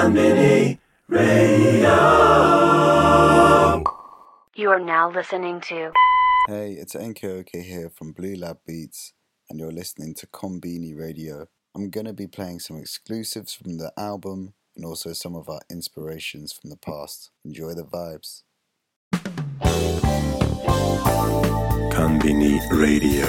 Konbini Radio. You are now listening to... Hey, it's Enke here from Blue Lab Beats, and you're listening to Konbini Radio. I'm going to be playing some exclusives from the album and also some of our inspirations from the past. Enjoy the vibes. Konbini Radio.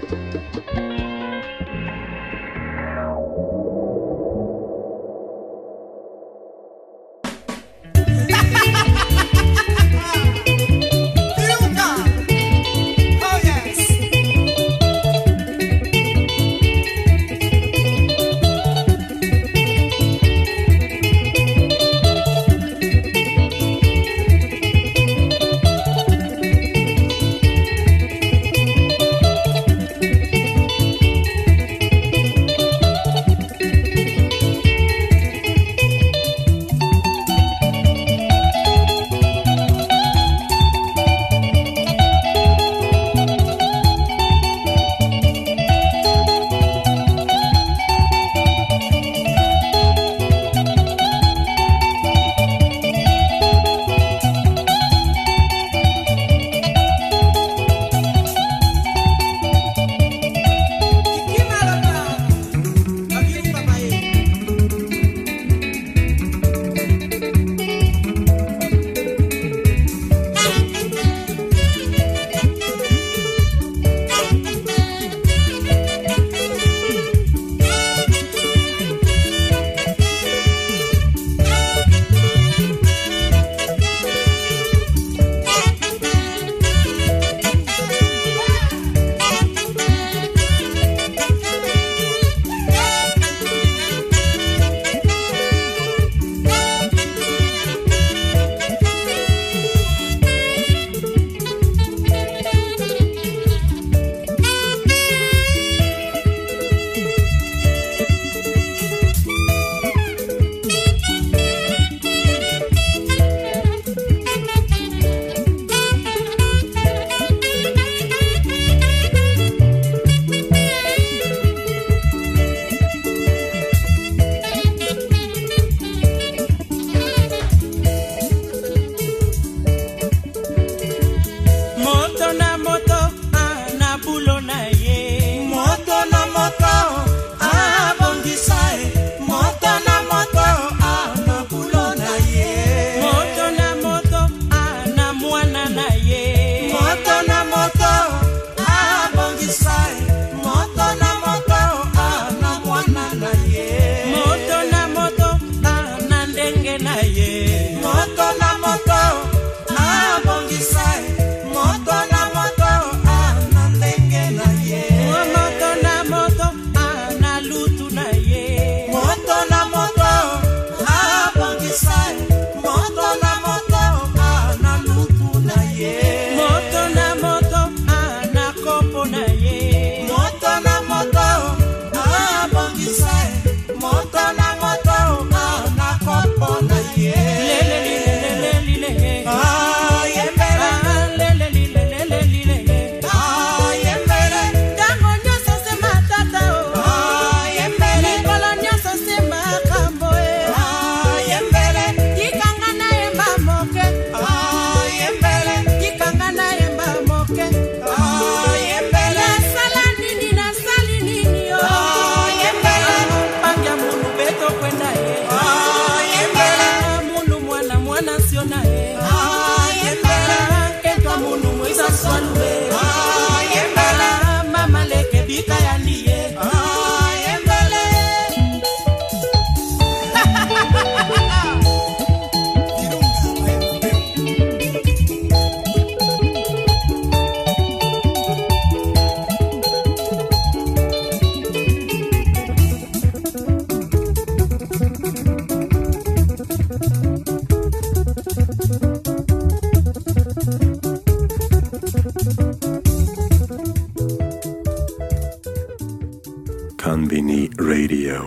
Konbini Radio.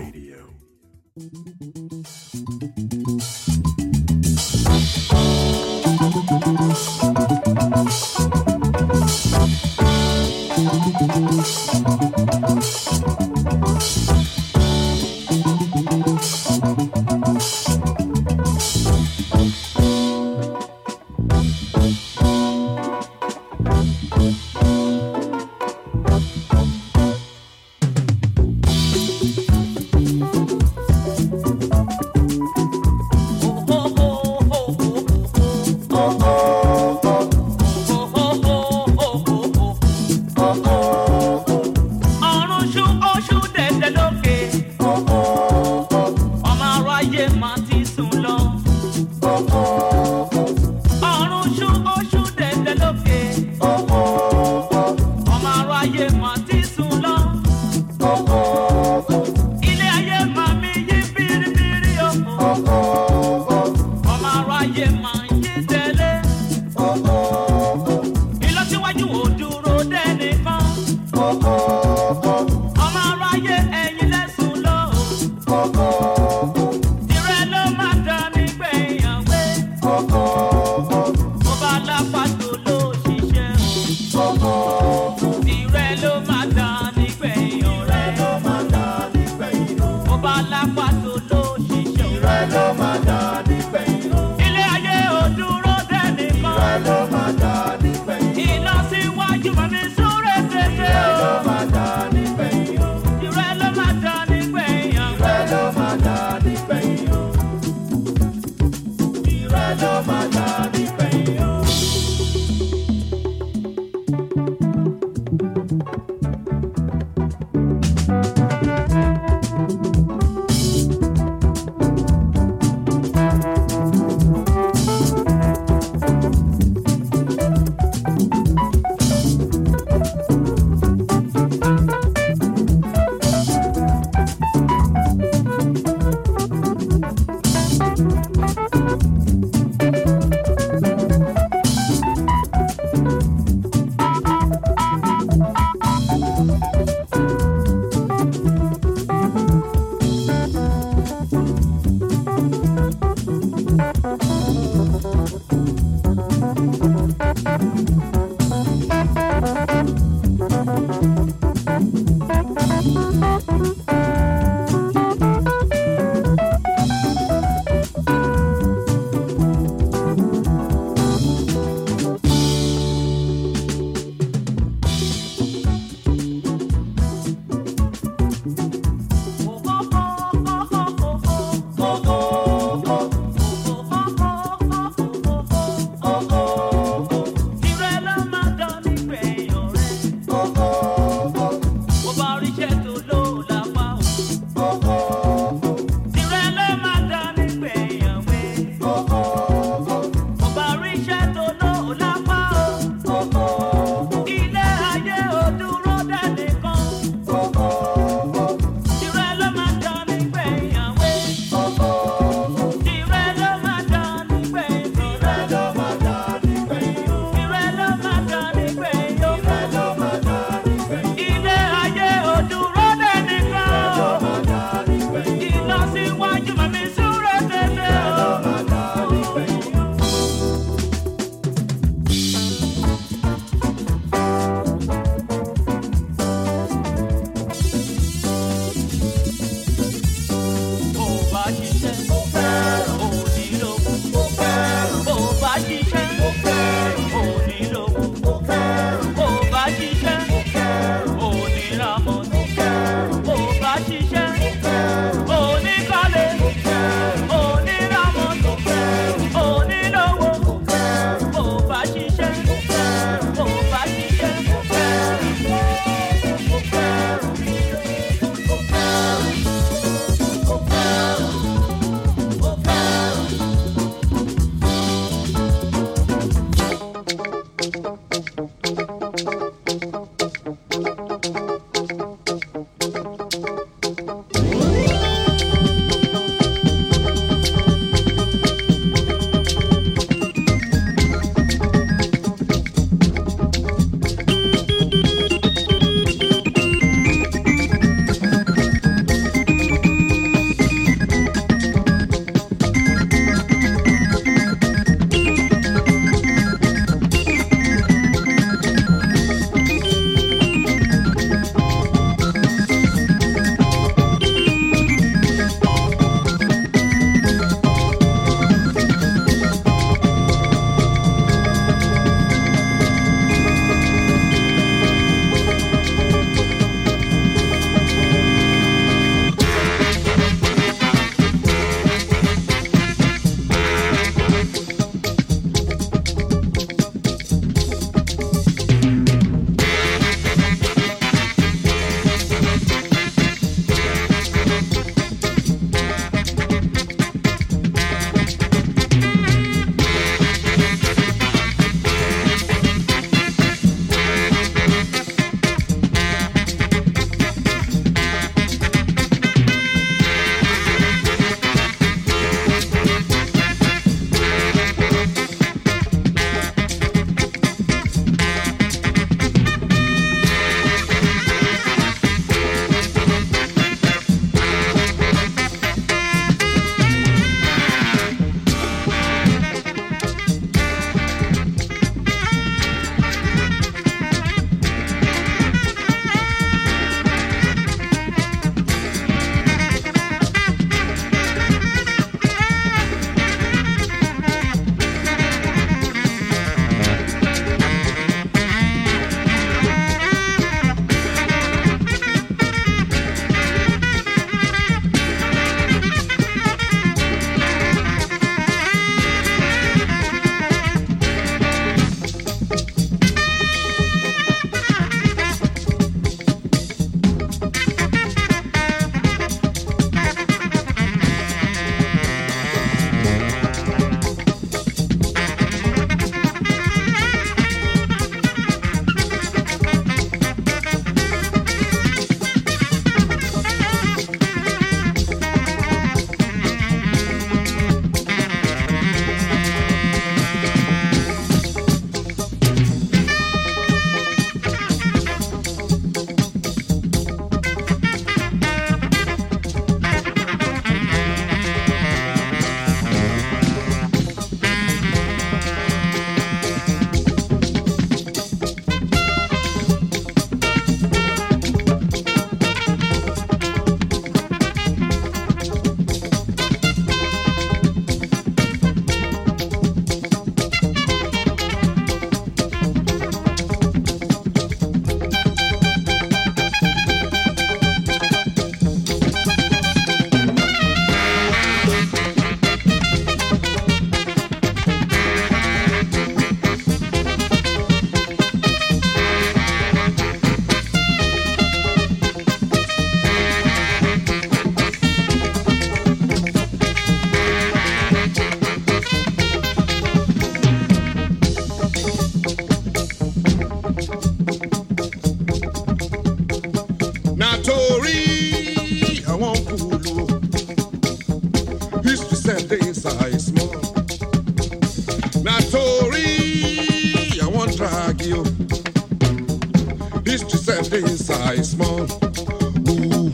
you. History said this size small. Ooh.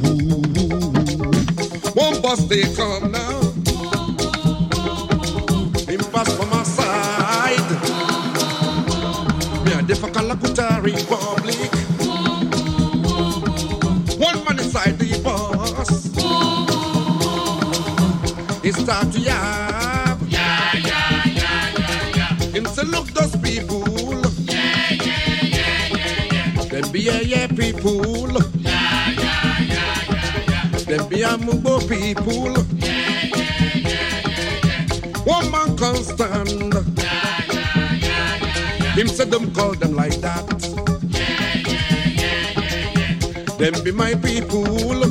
One bus they come now. Him pass from my side. Me a dey for Kalakuta Republic. One man inside the bus. He start to yap. Him say look those people. Them be people. Them be Mugbo people. One man can't stand. Him said them call them like that. Them be my people.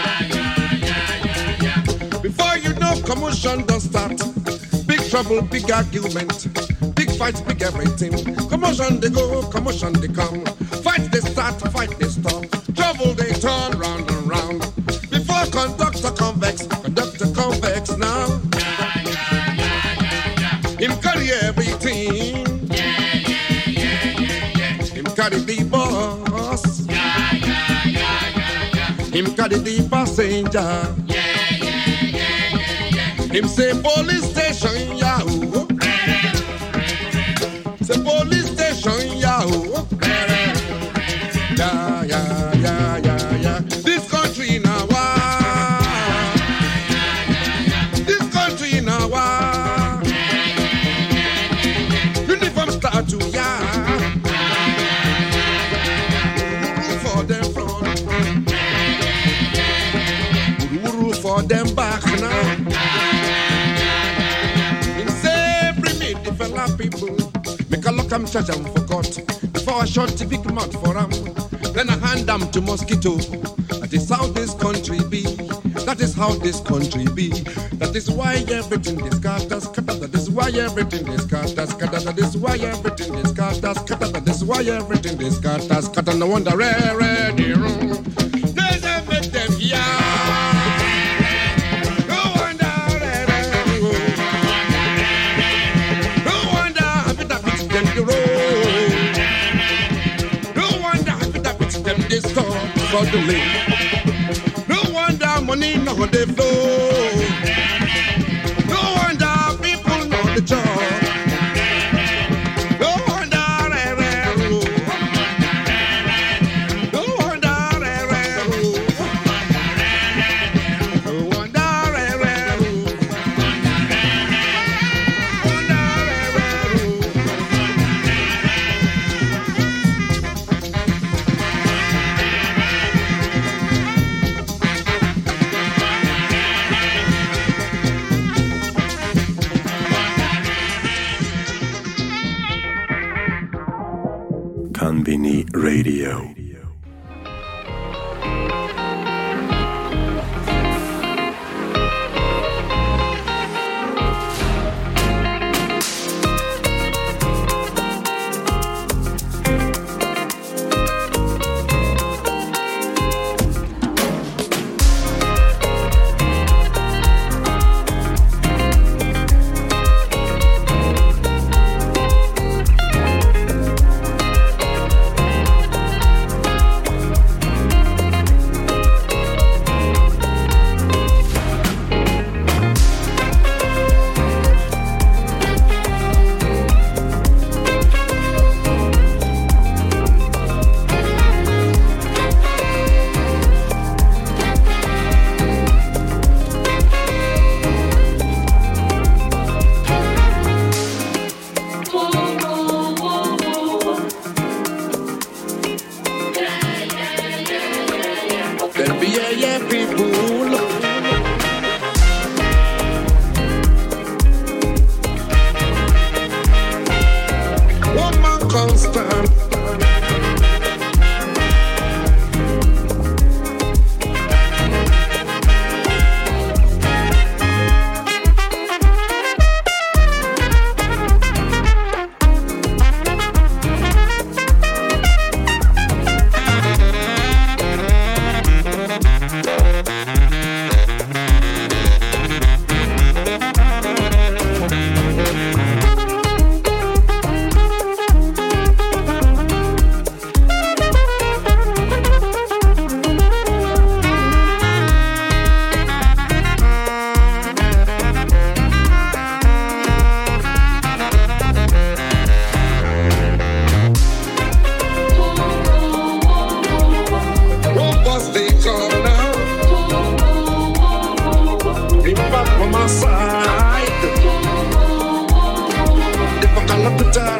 Before you know, commotion does start. Big trouble, big argument. Big fights, big everything. Commotion they go, commotion they come. Fight they start, fight they stop. Trouble they turn round and round. Before conductor convex now. Him carry everything. Him carry the boss. Him carry the passenger. Him say police station, yahoo. Say police station, yahoo. Yeah. This country now, this country now, uniform start to for them front, for them back now. In say bring me the fella people, make a look am charge am for court. Before I shot the big mouth for them. Then I hand them to mosquito. That is how this country be. That is how this country be. That is why everything is scatters. That is why everything is scatters. That is why everything is scatters. That is why everything is scatters. No wonder ready wrong. There's a make them No wonder No wonder if it happens them the road. Them they stop suddenly. No wonder money no they flow. No wonder people know the job. No wonder No wonder Konbini Radio.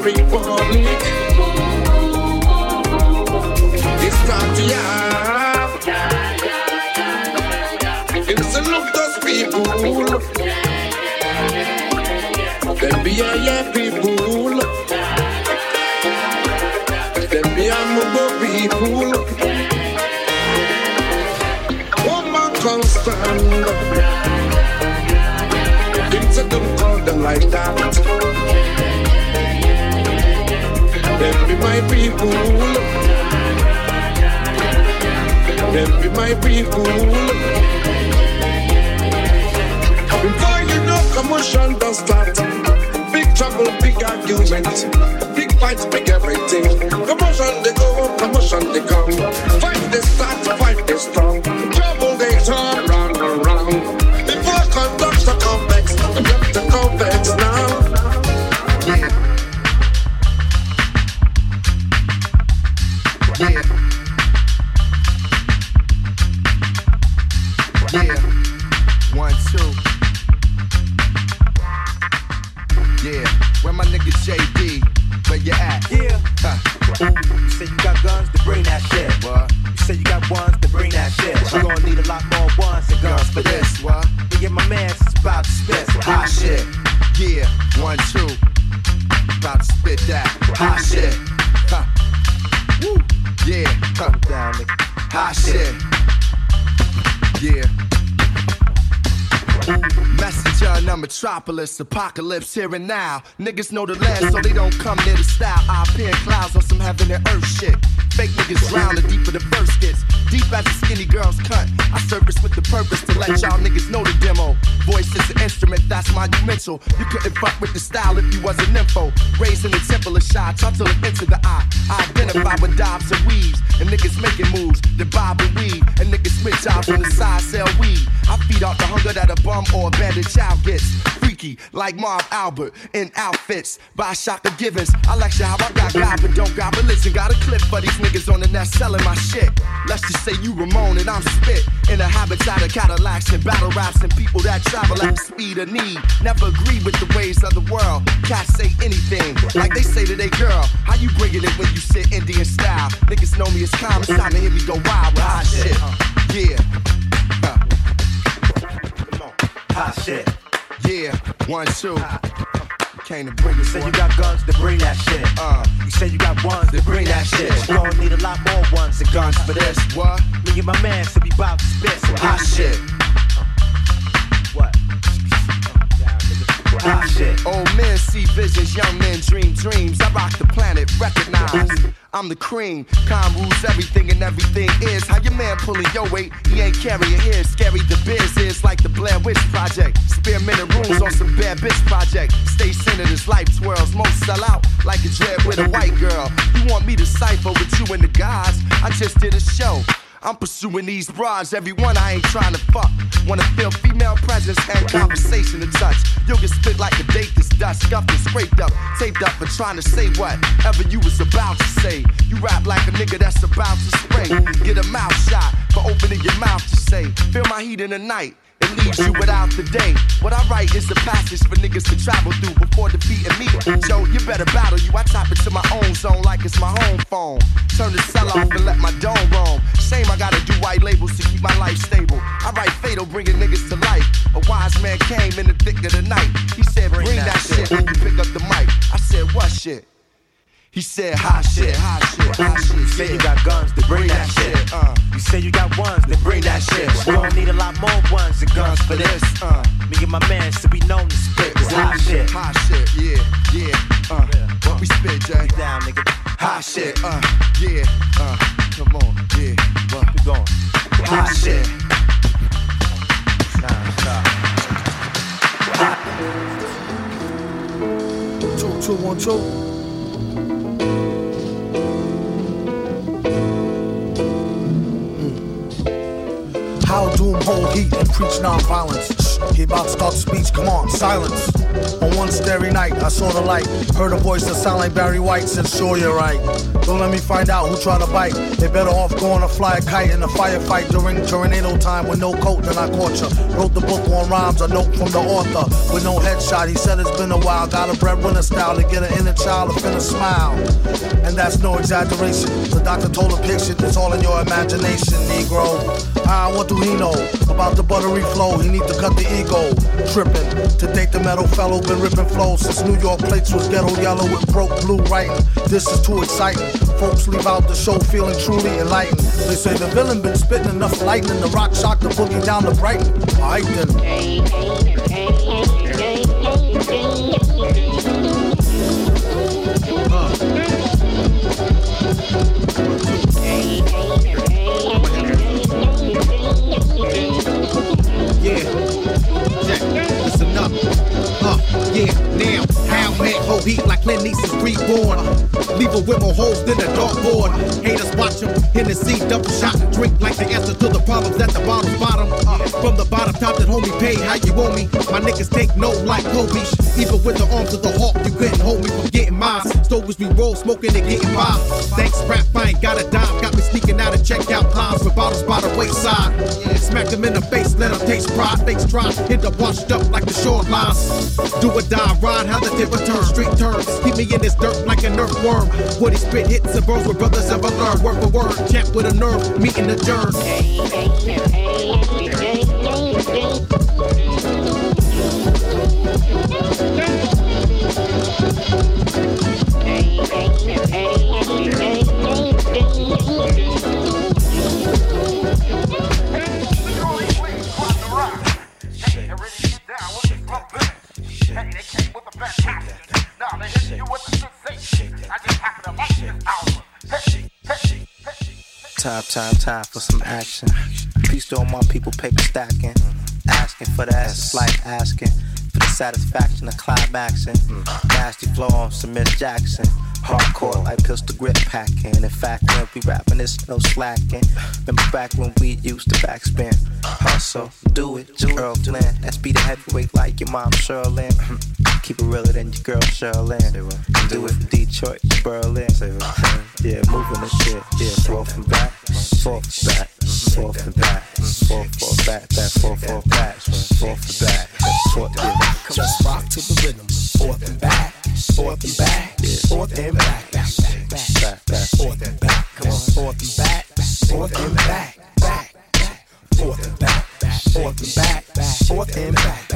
republic. It's not it's a look those people. Them be a people. Them be a Mugo people. Woman can't stand. Things that don't call them like that. Them be my people. Them be my people. Before you know, commotion does start. Big trouble, big argument. Big fights, big everything. Commotion they go, commotion they come. Fight they start, fight they strong. Trouble they turn round and round. Before conduct the complex, conduct the complex now. Yeah. 1, 2. Yeah. Where my nigga JD? Where you at? Yeah. You say you got guns to bring that shit. What? You say you got ones to bring that shit. You gon' need a lot more ones and guns for this. What? Me and my man's about to spit hot shit. Yeah. 1, 2. About to spit that hot shit. Huh. Woo. Yeah. Huh. Down, nigga. Hot shit. Yeah. Messenger in the metropolis, apocalypse here and now. Niggas know the land, so they don't come near the style. I appear in clouds on some heaven and earth shit. Fake niggas drown the deeper the verse gets. Deep as a skinny girl's cut. I surface with the purpose to let y'all niggas know the demo. Voice is an instrument, that's monumental. You couldn't fuck with the style if you wasn't info. Raised in the temple of shy, taught to look into the eye. I identify with dobs and weaves. And niggas making moves, the bob and weave. And niggas spit jobs on the side, sell weed. I feed off the hunger that a bum or abandoned child gets. Freaky, like Marv Albert, in outfits by Shaka Givens. I lecture how I got God, but don't got religion. Got a clip for these niggas on the net selling my shit. Let's just say you Ramon and I'm spit. In a habitat of Cadillacs and battle raps and people that travel at the speed of need. Never agree with the ways of the world. Cats say anything, like they say to their girl. How you bringing it when you sit Indian style? Niggas know me as calm, it's time to hear me go wild with hot shit. Yeah. Hot shit. Yeah. 1, 2. Came to bring it. You say you got guns to bring that shit. You say you got ones to bring that shit. You gon' need a lot more ones and guns for this. What? Me and my man should be bout to spit some hot shit. What? Hot shit. Old men see visions, young men dream dreams. I rock the planet, recognize I'm the cream. Calm rules everything and everything is. How your man pulling your weight, he ain't carrying his. Scary the biz is like the Blair Witch Project. Spearminted rules on some bad bitch project. Stay centered as life twirls. Most sell out like a dread with a white girl. You want me to cipher with you and the guys? I just did a show. I'm pursuing these broads, everyone I ain't trying to fuck. Wanna feel female presence and conversation to touch. You'll get spit like a date that's dust, scuffed and scraped up, taped up for trying to say whatever you was about to say. You rap like a nigga that's about to spray. Get a mouth shot for opening your mouth to say, feel my heat in the night. It leaves you without the day. What I write is a passage for niggas to travel through before defeating me. Joe, you better battle you. I tap into my own zone like it's my home phone. Turn the cell off and let my dome roam. Shame I gotta do white labels to keep my life stable. I write fatal, bringing niggas to life. A wise man came in the thick of the night. He said, bring that shit when you pick up the mic. I said, what shit? He said, hot shit, hot shit, hot shit. You say you got guns to bring that shit. You say you got ones to bring that shit. You gon' need a lot more ones and guns for this. Me and my man should be known to spit this hot shit. Hot shit, yeah, yeah. What we spit, Jay? Down, nigga. Hot shit, yeah. Come on, yeah. What? Keep going. Hot shit. Nah, 2, 1, 2. How doom hold heat and preach non-violence. He about to start the speech, come on, silence. On one starry night, I saw the light. Heard a voice that sounded like Barry White, said, sure you're right. Don't let me find out who tried to bite. They better off going to fly a kite in a firefight during tornado time with no coat, then I caught ya. Wrote the book on rhymes, a note from the author. With no headshot, he said it's been a while. Got a breadwinner style to get an inner child to finna smile. And that's no exaggeration. The doctor told a patient it's all in your imagination, Negro. What do he know about the buttery flow? He need to cut the ego. Trippin'. To date the metal fellow, been ripping flows since New York plates was ghetto yellow with broke blue writing. This is too exciting. Folks leave out the show feeling truly enlightened. They say the villain been spitting enough lightning. The rock shock the boogie down to Brighton. Alright then. Listen up. Yeah, now, how man, whole heat like Clint East's reborn. Leave a with more holes than a dartboard. Haters watch him, Hennessy, double shot and drink like the answer to the problems at the bottom's bottom. From the bottom top that homie pay, how you owe me? My niggas take no like Kobe. Even with the arms of the hawk, you couldn't hold me from getting mine. Stoves we roll, smoking and getting by. Thanks, rap, I ain't got a dime. Got me sneaking out and check out lines with bottles by the wayside. Smack them in the face, let them taste pride. Fakes try, end up washed up like the shorelines. Do or die, ride, how the tip return. Street turns, keep me in this dirt like an earthworm. Woody spit hits and burns where brothers ever learn. Word for word, champ with a nerve, meeting the germ. Time for some action. Peace to all my people, paper stacking. Asking for the essence, like asking for the satisfaction of climaxing. Nasty flow on some Miss Jackson. Hardcore like pistol grip packing. In fact, when we rapping, it's no slacking. Remember back when we used to backspin. Hustle, do it, Earl Flynn. That's be the heavyweight like your mom, Sherlyn. Keep it realer than your girl, Sherlyn. Do it from Detroit to Berlin. Yeah, moving the shit. Yeah, forth and back, forth and back, forth and back, forth back, back, forth back, forth and back, forth back. Just rock to the rhythm, forth and back, forth and back, forth and back, back, forth and back. Come on, forth and back, forth and back, back, forth and back, forth and back, forth and back,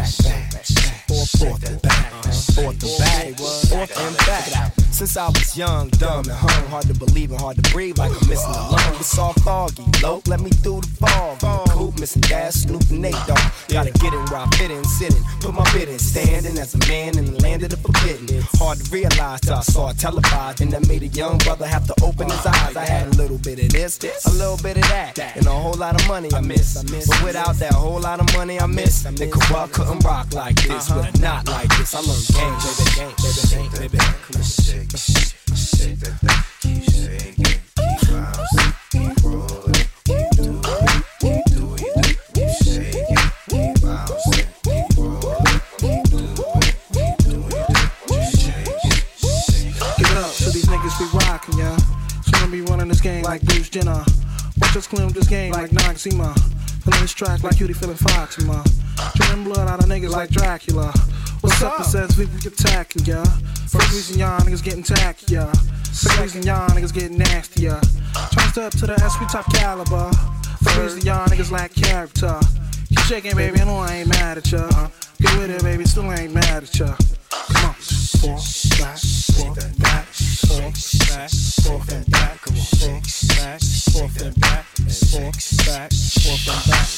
forth and back, forth and back, forth and back. Since I was young, dumb, and hung, hard to believe and hard to breathe, like I'm missing a lung. It's all foggy, low, let me through the fog. Coop, missing Dash, Snoop, and Nate Dogg. Gotta get it where I fit in, sitting, put my bid in, standing as a man in the land of the forbidden. Hard to realize till I saw it televised, and that made a young brother have to open his eyes. I had a little bit of this, a little bit of that, and a whole lot of money I miss. But without that whole lot of money I miss, the Corrupt couldn't rock like this with a knot like this. I learned game, baby. Come on, shake that thing, keep shaking, keep bouncing, keep rolling, keep doing it, keep doing it, keep shaking, keep bouncing, keep rolling, keep doing it, keep doing it, just shake it. Give it up to these niggas we rockin', yeah. Soon be running this game like Bruce Jenner. Watch us clean up this game like Noxema. Feeling this track like Cutie feeling Foxima. Drinking blood out of niggas like Dracula. What's up? It says we attacking, yeah. First reason y'all niggas getting tacky, yeah. Second reason y'all niggas getting nasty, yeah. Trying to step to the S, we top caliber. Third reason y'all niggas lack character. Keep shaking, baby, I know I ain't mad at ya. Get with it, baby, still ain't mad at ya. Come on. Forth, back, forth, back, forth, back, forth and back. Come on. Forth, back, forth and back, forth, back, forth and back.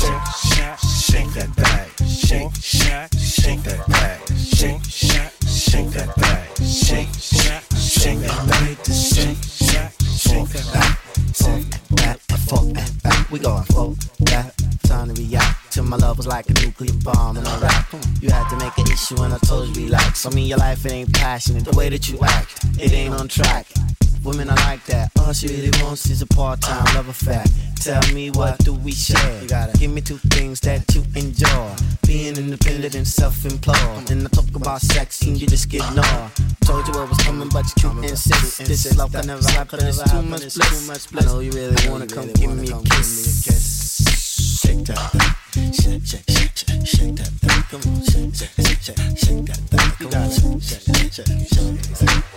Shake that bag, shake, shake that bag, shake, shake that bag, shake that bag, shake that back, forth and back. We going forth, back. Time to react to my love was like a nuclear bomb in a rap. You had to make an issue and I told you relax. I mean your life it ain't passionate, the way that you act, it ain't on track. Women are like that. All she really wants is a part-time love affair. Tell me, what do we share? You gotta give me two things that you enjoy. Being independent and self-employed. And I talk about sex and you just get ignored. Told you I was coming, but you can't insist. This love can never happen, it's too much bliss. I know you really wanna come give me a kiss. Shake that thing, shake, shake, shake, shake, shake that thing. Come on, shake, shake, shake, shake, shake that thing. Come on, shake, shake, shake, shake, shake that thing.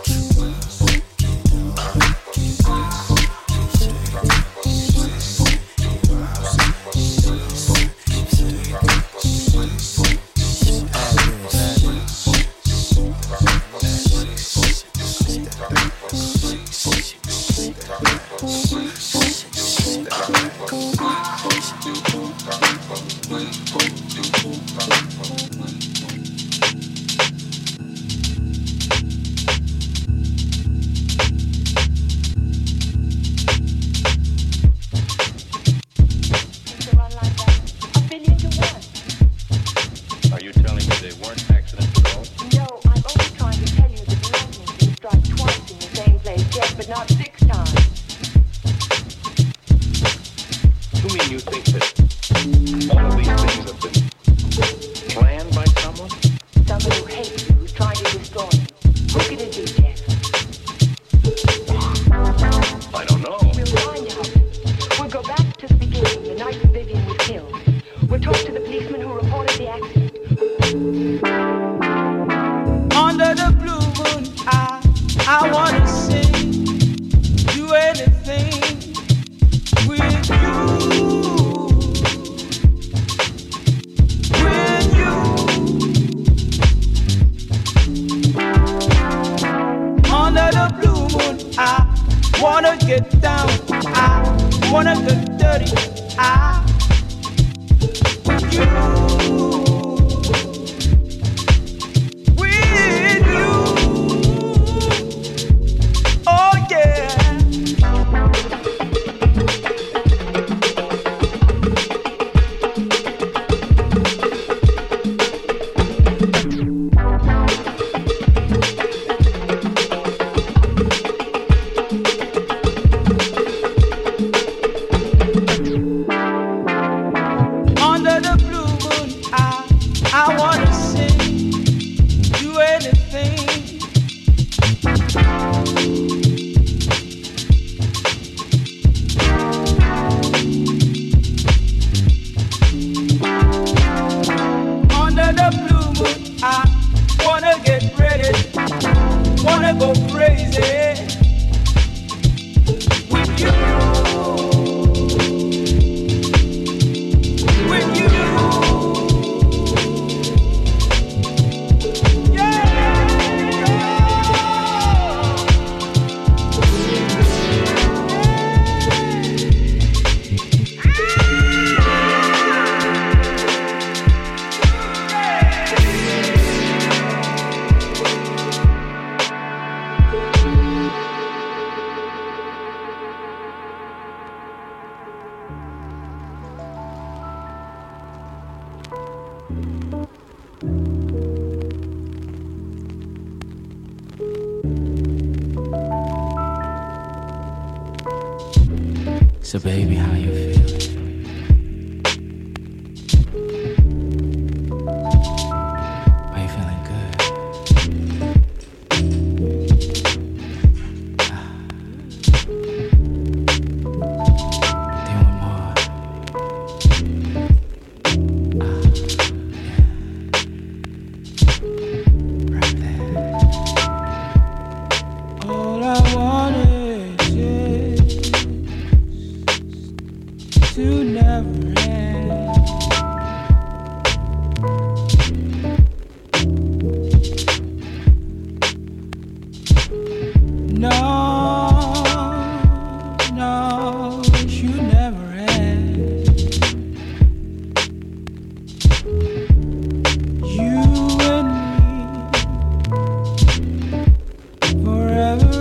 So baby, how you feeling? Are you feeling good? Do you want more? Yeah. Right there. All I want is to never end. No, no, it should never end. You and me forever.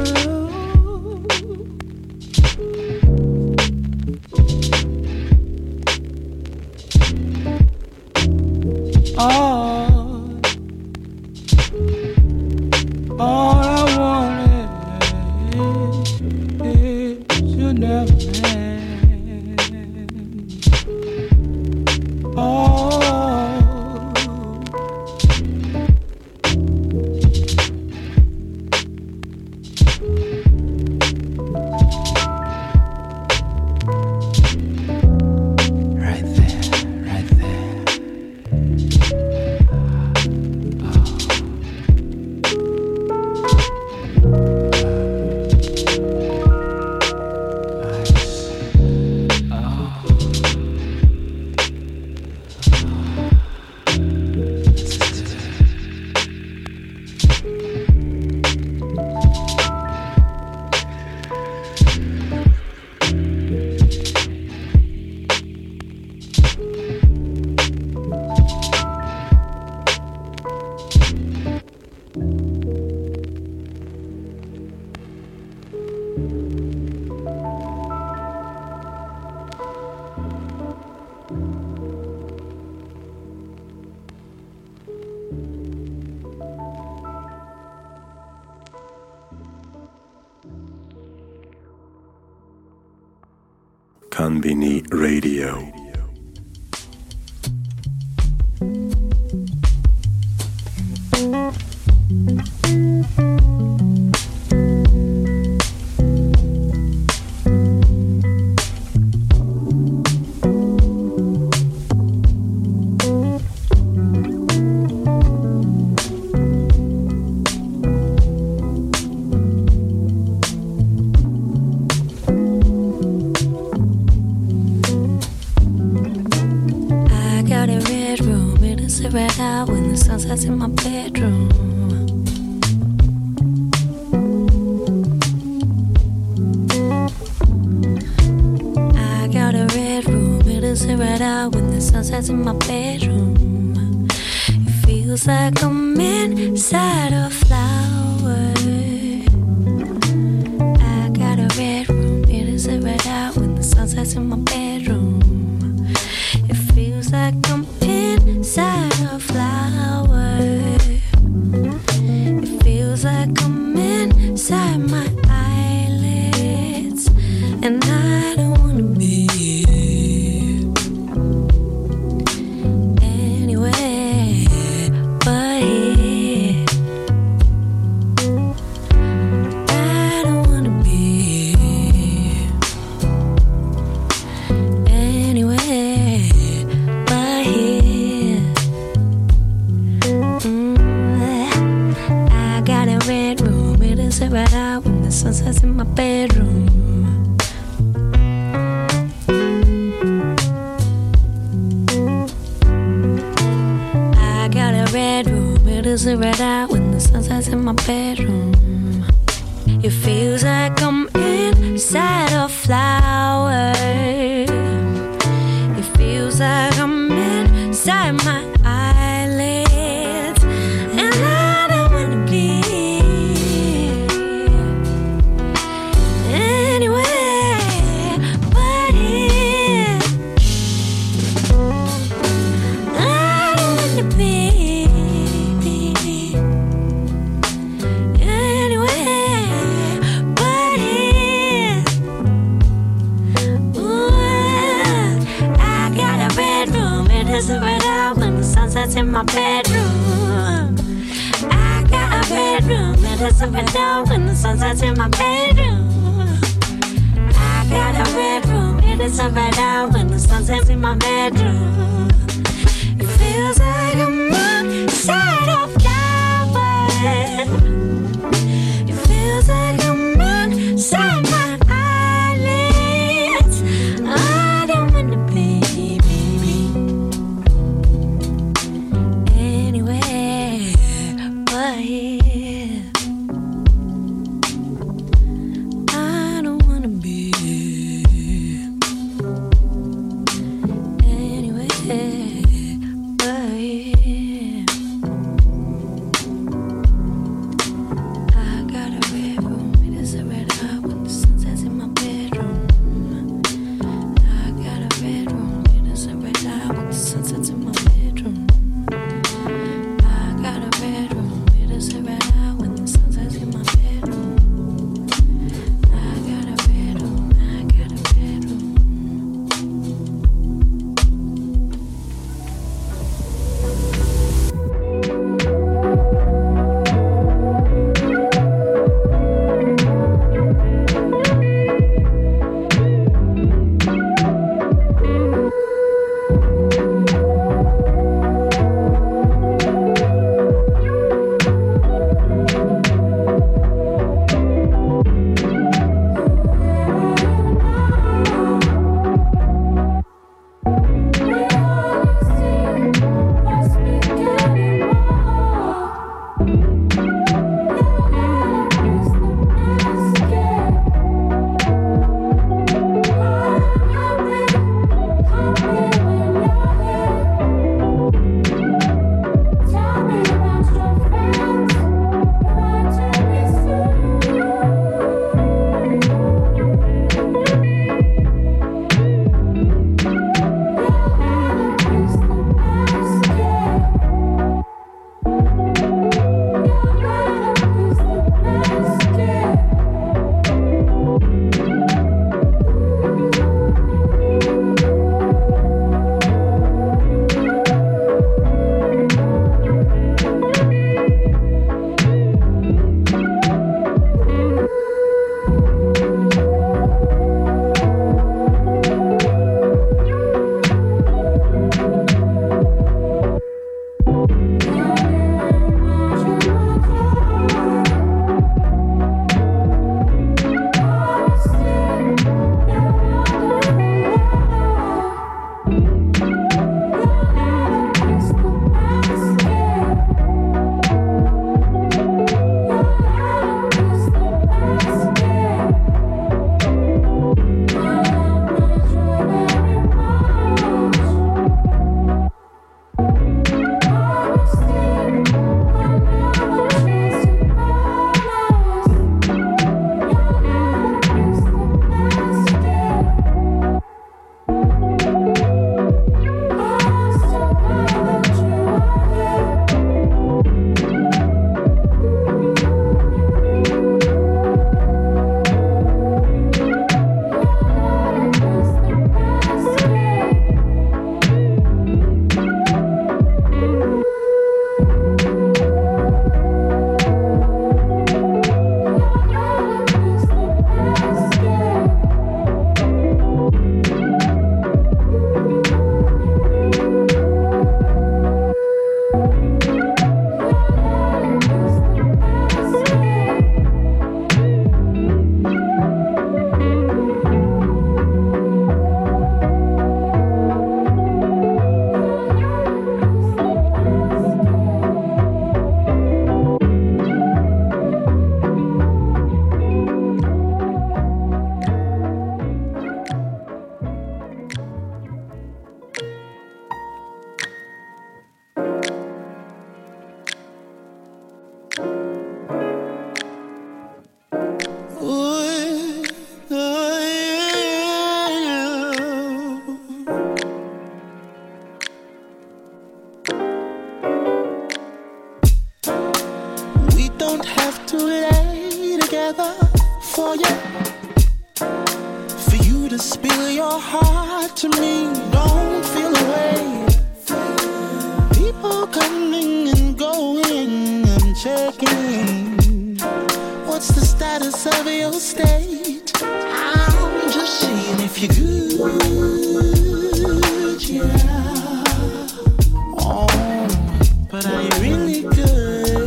All I wanted Konbini Radio. In my bedroom, I got a red room. It'll sit right out when the sun sets in my bedroom. It feels like I'm inside a flower. I got a red room. It'll sit right out when the sun sets in my bedroom. It feels like I'm inside a flower. It feels like I'm inside my eyelids, and I don't wanna be anywhere but here. I don't wanna be anywhere but here. I got a red room, it'll sit right out when the sun sets in my bedroom. I got a red room, it'll sit right out when the sun sets in my bedroom. It feels like I'm inside a flower. It feels like I'm inside my eyelids, and I don't wanna be anywhere but here. I don't wanna be anywhere but here. Ooh, I got a red room, it isn't right out when the sun sets in my bedroom. I got a red room, it isn't right out when the sun sets in my bedroom. I got a red room, it isn't right out when the sun sets in my bedroom. It feels like I'm inside a flower. It feels like I'm inside my eyelids. I don't wanna be anywhere but here. I don't wanna be anywhere together for you. For you to spill your heart to me, don't feel away. People coming and going, I'm checking. What's the status of your state? I'm just seeing if you're good, yeah. Oh, but are you really good?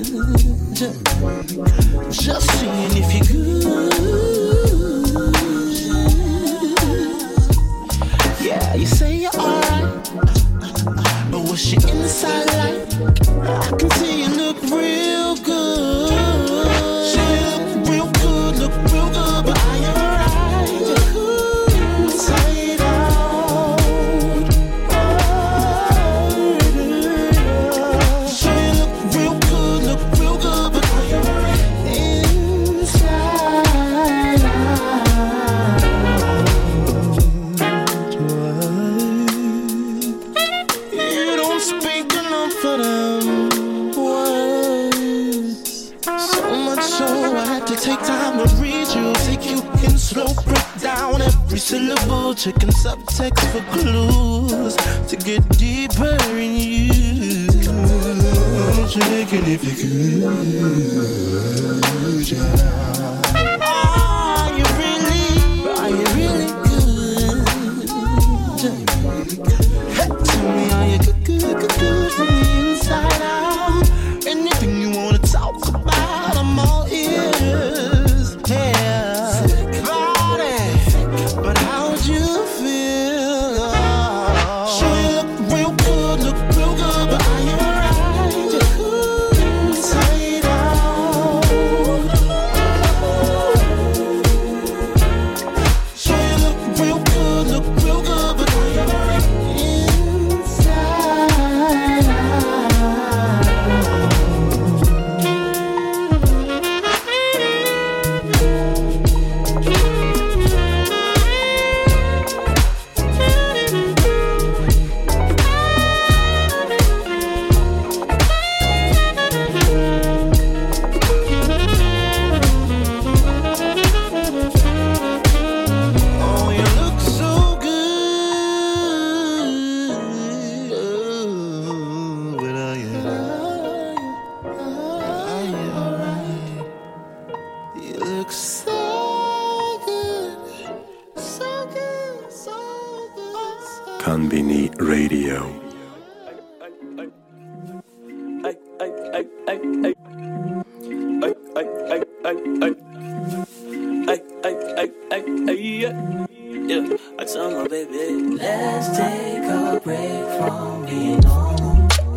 Just seeing if you're good. Yeah, you say you're alright, but what's your inside like? I can see you look real good. Look real good, but are you alright? Inside out. So you look real good, but are you alright? Inside out. You don't speak enough of them words. So much so I had to take time to read you, take you in slow, break down every syllable, checking subtext for clues to get deeper in you. Checking if you could, yeah. Are you really good? Tell me, are you good from the inside out? Anything you wanna talk about, I'm all ears. Yeah, body, but how'd you feel? Sure you look real good, but are you alright? Inside out. Sure you look real good, but are you alright? Inside out. Oh, you look so good, but are you alright? You look so good, so good, so good. Konbini Radio. Yeah, I tell my baby, let's take a break from being normal.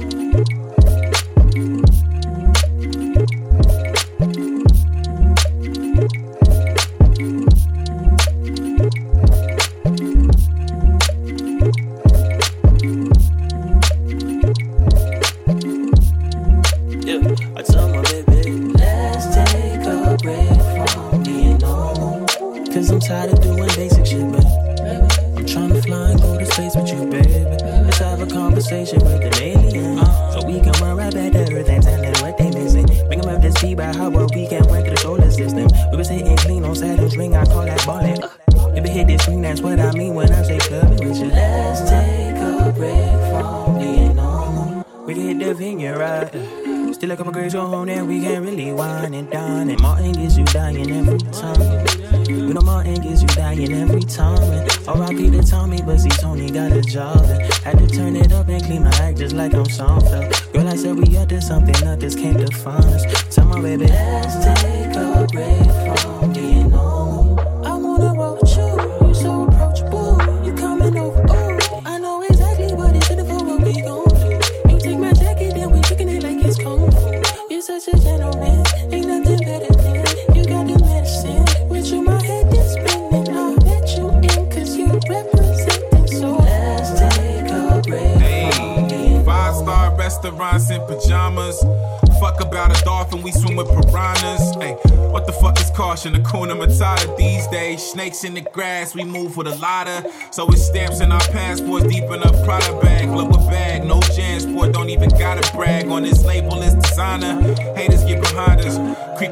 Yeah, I tell my baby, let's take a break from being normal. Cause I'm tired of doing basic shit, baby. I'm trying to fly and go to space with you, baby. Let's have a conversation with an alien, so we can run right back to Earth and tell them what they missing. Bring them up to speed by how well we can run through the solar system. We was hitting clean on Saturn's ring, I call that ballin'. If it hit this screen, that's what I mean when I say clubbing with you. Let's take a break from being normal. We can hit the vineyard, right? Still a couple grades go home and we can't really wine and dine. And Martin gets you dying every time. We know Martin gets you dying every time. And R.I.P. to Tommy, but see Tony got a job. And had to turn it up and clean my act just like I'm Seinfeld. Girl, I said we up to something, others can't define us. Tell my baby, let's take a break from being normal. I wanna roll with you, you so approachable. You coming over, oh, I know exactly what it's in for what we gon' do. You take my jacket and we kicking it like it's kung fu. You're such a gentleman, ain't nothing better than you got the medicine. With you, my head is spinning. I'll let you in, cause you represent it. So let's take a break. Hey, 5-star restaurants in pajamas. Fuck about a dolphin, we swim with piranhas. Hey, what the fuck is caution? Hakuna Matata these days. Snakes in the grass, we move with a lotta. So it's stamps in our passports, deep in a Prada bag. Look a bag, no Jansport, don't even gotta brag. On this label, it's designer. Haters get behind us. Creep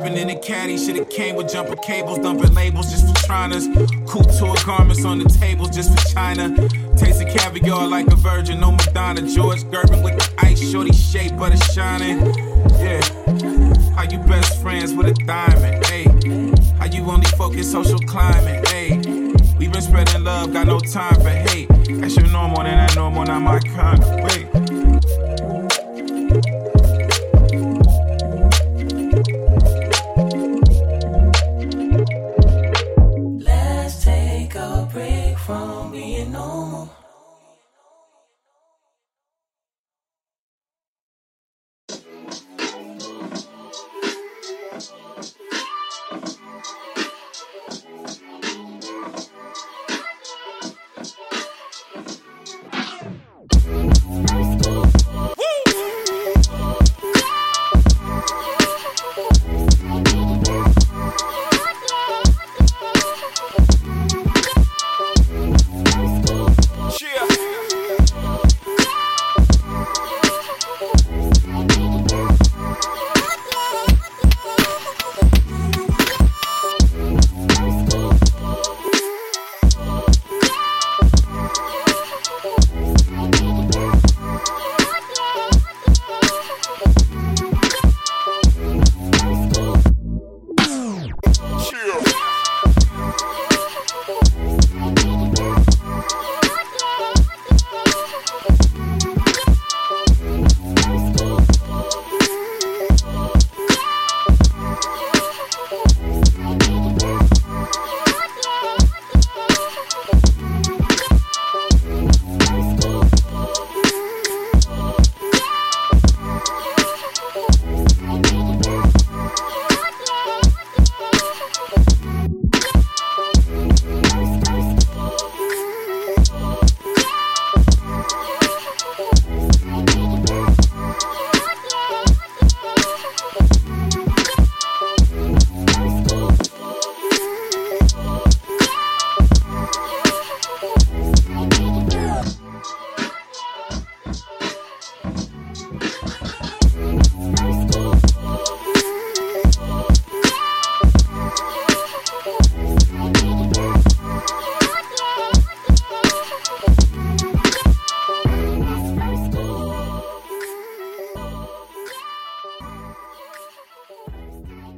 Sipping in a caddy, should've came with jumper cables, dumping labels just for triners. Couture garments on the tables just for China. Tasting caviar like a virgin, no Madonna. George Gervin with the ice, shorty shape, butter shining. Yeah, how you best friends with a diamond, hey? How you only focus social climate, hey? We been spreading love, got no time for hate. That's your normal, then that normal, not my kind of way. Let's take a break from being normal.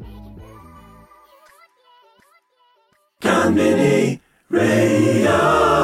Konbini Radio.